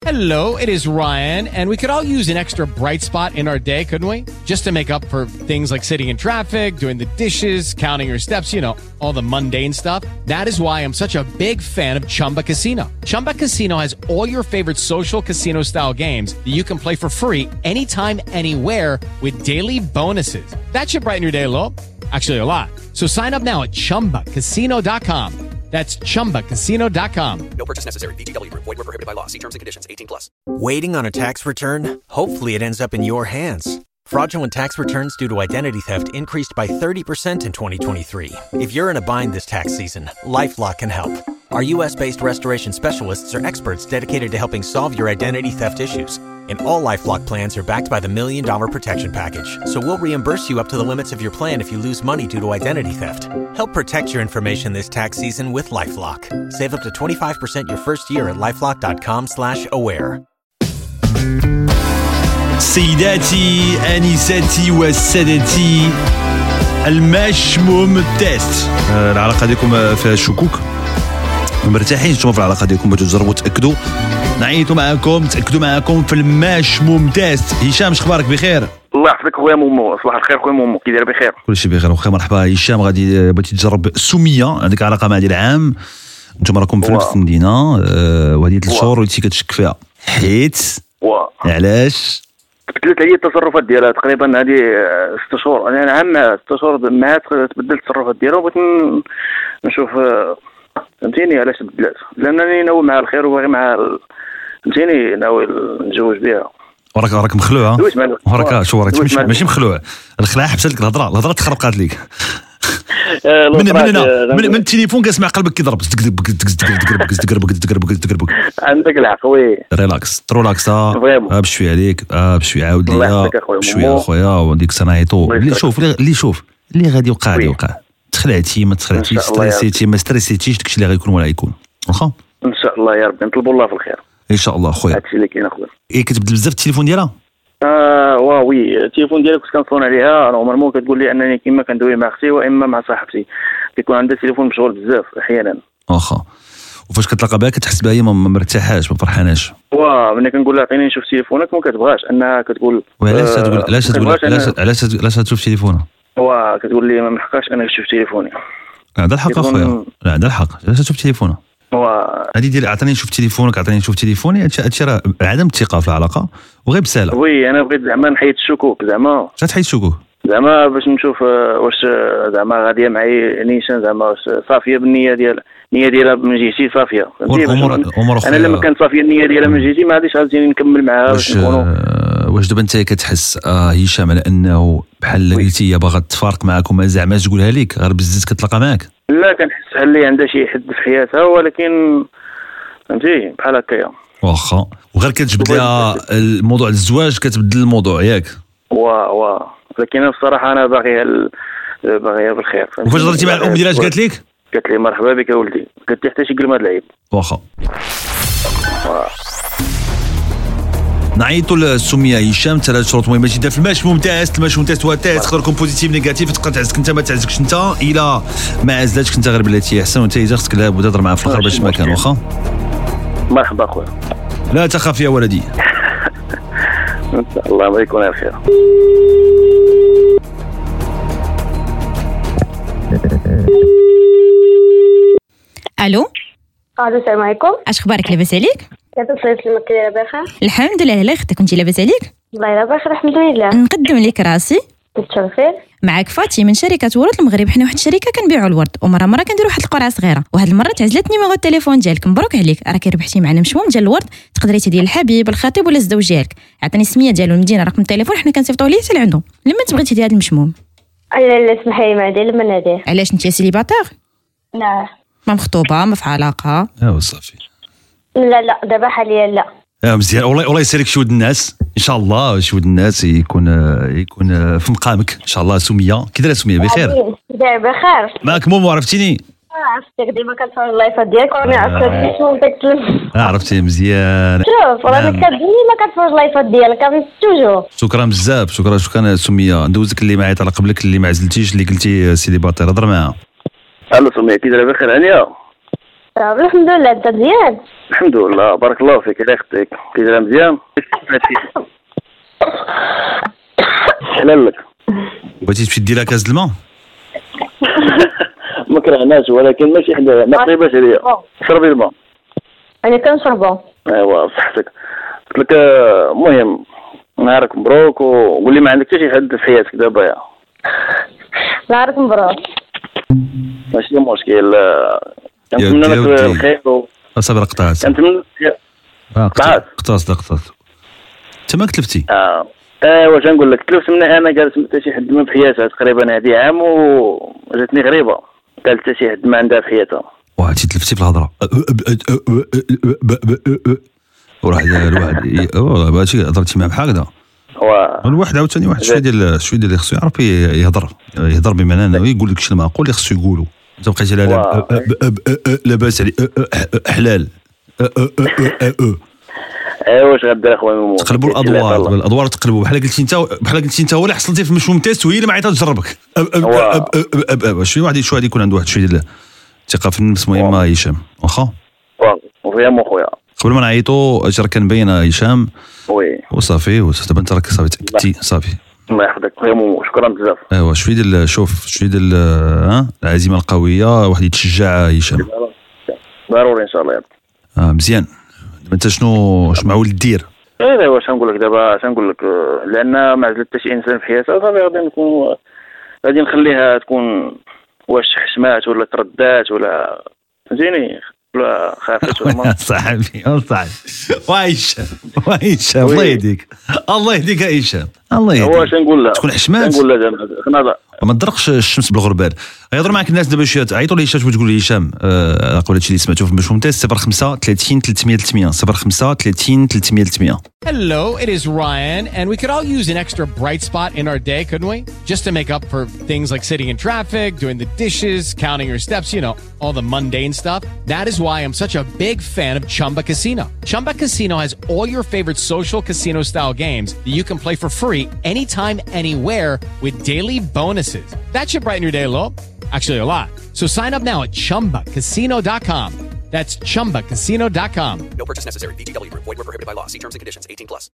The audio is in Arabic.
Hello, it is Ryan, and we could all use an extra bright spot in our day, couldn't we? Just to make up for things like sitting in traffic, doing the dishes, counting your steps, you know, all the mundane stuff. That is why I'm such a big fan of Chumba Casino. Chumba Casino has all your favorite social casino-style games that you can play for free anytime, anywhere with daily bonuses. That should brighten your day a little. Actually, a lot. So sign up now at ChumbaCasino.com. That's ChumbaCasino.com. No purchase necessary. VGW Group. Void where prohibited by law. See terms and conditions. 18+. Waiting on a tax return? Hopefully it ends up in your hands. Fraudulent tax returns due to identity theft increased by 30% in 2023. If you're in a bind this tax season, LifeLock can help. Our U.S.-based restoration specialists are experts dedicated to helping solve your identity theft issues. And all LifeLock plans are backed by the $1 Million Protection Package. So we'll reimburse you up to the limits of your plan if you lose money due to identity theft. Help protect your information this tax season with LifeLock. Save up to 25% your first year at LifeLock.com/aware. سيداتي آنساتي وسادتي، المشموم تيست. العلاقة ديالكم فيها شكوك، مرتاحين نتوما في العلاقة ديالكم، بغيتو تجربوا تأكدوا، نعيطوا معاكم تأكدوا معاكم في المشموم تيست. هشام اش اخبارك؟ بخير؟ الله يحفظك خويا مومو. صباح الخير خويا مومو، كي داير؟ بخير كلشي بخير وخير. مرحبا هشام، غادي بغيتي تجرب سمية، عندك علاقة مع ديال عام، نتوما راكم في نفس المدينة، وهذه 3 شهور وليتي كتشك فيها حيت علاش؟ تبدلت عليا التصرفات ديالها تقريبا هذه 6 شهور. انا عام 6 شهور معها تبدلت التصرفات ديالها، وبغيت نشوف فهمتيني علاش تبدلات، لانني ناوي معها الخير وباغي معها فهمتيني، ناوي نتزوج بها. وراك مخلوع، وراك شو راك ماشي مخلوع، الخلاع حبست لك الهضره تخربقات ليك من التليفون كنسمع قلبك كيضرب عندك الحق وي. ريلاكس بشويه عليك، بشويه عاود ليا بشويه اخويا، وديك سنعيطو اللي شوف اللي غادي يوقع تخلعتي ما تخلعتيش، ستريسيتي ما ستريسيتيش، داكشي اللي غيكون ولا يكون واخا ان شاء الله يا ربي. نطلبوا الله في الخير ان شاء الله خويا. هادشي اللي كاين اخويا. كتبدل بزاف التليفون ديالها؟ وي التليفون ديالك كنت كنصون عليها نورمالمون، كتقول لي انني كيما كندوي مع اختي واما مع صاحبتي، كيكون عندها التليفون مشغول بزاف احيانا. واخا وفاش كتلاقى بها كتحس بها هي ما مرتاحاش ما فرحاناش؟ ملي كنقول لها عطيني نشوف تليفونك ما كتبغاش، انها كتقول علاش تشوف تليفونها؟ كتقول لي ما محقاش انا نشوف تليفوني. عندها الحق اخويا، لا عندها الحق، علاش تشوف تليفونها؟ هذه ديال عطيني نشوف تليفونك، عطيني نشوف تليفوني، هادشي راه عدم الثقه في العلاقه وغير بساله. وي انا بغيت زعما نحيد الشكوك، زعما تحيد الشكوك زعما باش نشوف واش زعما غاديه معايا نيشان، زعما واش صافيه بالنيه ديالها، النيه ديالها من جهتي صافيه. انا لما كانت صافيه النيه ديالها من جهتي ما غاديش غادي نكمل معها باش نكونوا. واش دابا انت كتحس هشام على انه بحال قلتي هي باغا تفارق معاك وما زعما تقولها لك غير بزز كتلاقى معاك؟ لا كنحس بحال اللي عندها شي حد في حياتها، ولكن فهمتي بحال هكايا واخا، وغير كتجبد لها الموضوع الزواج كتبدل الموضوع ياك؟ لكن انا بصراحه انا باغيها بالخير. وفاش هضرتي مع الام ديالها قالت لك؟ قالت لي مرحبا بك يا ولدي، قالت لي حتى شي كلمه د العيب. واخا نعيطوا للسميه هشام 3 شروط مهمه جدا في المشموم تيست. المشموم تيست هو تيست تقدر يكون بوزيتيف نيجاتيف، تقدر تعزك انت ما تعزكش انت، الا ما عزلاتش انت غير بلاتي احسن، وانت اذا خصك لابد تهضر معاه في الاخر باش ما كان. واخا مرحبا اخويا، لا تخاف يا ولدي ان شاء الله ما يكون على خير. الو السلام عليكم. اش اخبارك؟ لاباس عليك؟ لاباس عليك؟ لاباس الحمد لله. لا اختي كنتي لاباس عليك؟ والله لاباس الحمد لله. نقدم لك راسي. تشرفي معك فاطمه من شركه ورود المغرب. حنا واحد الشركه كنبيعوا الورد، ومره نديروا واحد القرعه صغيره، وهاد المره تعزلت نيميرو التليفون ديالك. مبروك عليك، راكي ربحتي معنا مشموم ديال الورد، تقدري تدير الحبيب الخطيب ولا الزوج ديالك. عطيني السميه ديالو المدينه رقم التليفون، حنا كنصيفطوه ليه حتى لعندو. لما تبغي تدير هاد المشموم؟ لا اسمحي لي ما ندير لما ندير. علاش انت سيليباتير؟ لا ما مخطوبه ما في علاقه؟ صافي. لا دابا حاليا لا. مزيان، والله يسالك شي ود الناس ان شاء الله، شي ود الناس يكون في مقامك ان شاء الله. سميه كي دايره؟ سميه بخير؟ داير بخير. معك مومو، عرفتيني؟ عرفتك ديما كنتفرج اللايفات ديالك وراني عرفتك شنو كتكلم. عرفتي مزيان. شوف راني ديما كنتفرج اللايفات ديالك توجور. شكرا بزاف، شكرا سميه. ندوزك اللي معيط على قبلك، اللي ما عزلتيش، اللي قلتي سيليباتير، هضر معاها. الو سميه كي دايره؟ بخير هانيه؟ الحمد لله. انت مزيان؟ الحمد لله بارك الله فيك. الله يخطيك كيدير مزيان. حلال لك. بغيتي تمشي دير كاس الماء؟ ما كرهناش ولكن ماشي حدا ما قريباش عليا. شربي الماء. انا كنشربو. ايوا بصحتك. قلت لك المهم نهارك مبروك وقول لي ما عندك حتى شي حد في حياتك دابا يا. نهارك مبروك. ماشي مشكل. كنتمنى لك الخير صافي قطعت. كنتمنى قطعت انت ما كتلفتي. واش نقول لك تلفت من انا جالس حتى شي حد ما في حياتها تقريبا هذه عام وجاتني غريبه. قالت حتى شي حد ما عندها في حياتها. وعرفتي تلفتي في الهضره وراح الواحد هادشي هضرتي معاه بحال هكذا. الواحد عاوتاني واحد شويه ديال اللي خصو يعرف يهضر بمعنى يقول لك شي المعقول اللي خصو يقولوا. انت بقيتي لاباس علي حلال. واش غدير اخويا؟ تقلبوا الادوار تقلبوا بحال قلتي انت هو اللي حصلتي في مشموم تيست وهي اللي ما عيطات تجربك. شويه واحد يكون عنده واحد شويه ديال الثقه في النفس مهمه. هشام واخا وفيهم اخويا قبل ما نعيطوا اجر كان باين هشام وي وصافي دابا انت راك صافي تاكدتي صافي. الله يحفظك خويا مومو شكرا بزاف. ايوا شويه ديال شويه ديال العزيمه القويه واحد يتشجع هشام ضروري ان شاء الله. مزيان. انت شنو معول دير؟ واش نقول لك دابا اش نقول لك لان ما عزلت حتى شي انسان في حياتها صافي غادي نخليها تكون واش حشمات ولا تردات ولا فهمتيني ولا خافت ولا ما صاحبي وايش الله يهديك هشام الله يهديك. واش نقول لها تكون حشمات نقول لها ما تدرقش الشمس بالغربال. يهضر معك الناس دابا شي عيطوا لي هشام وتقول لي هشام اقول هادشي اللي سمعتو في مشروم تيست 05 30 300 300 05 30 300 300. Hello, it is Ryan, and we could all use an extra bright spot in our day, couldn't we? Just to make up for things like sitting in traffic, doing the dishes, counting your steps, all the mundane stuff. That is why I'm such a big fan of Chumba Casino. Chumba Casino has all your favorite social casino-style games that you can play for free anytime, anywhere with daily bonuses. That should brighten your day a little. Actually, a lot. So sign up now at ChumbaCasino.com. That's ChumbaCasino.com. No purchase necessary. VGW Group. Void where prohibited by law. See terms and conditions. 18+.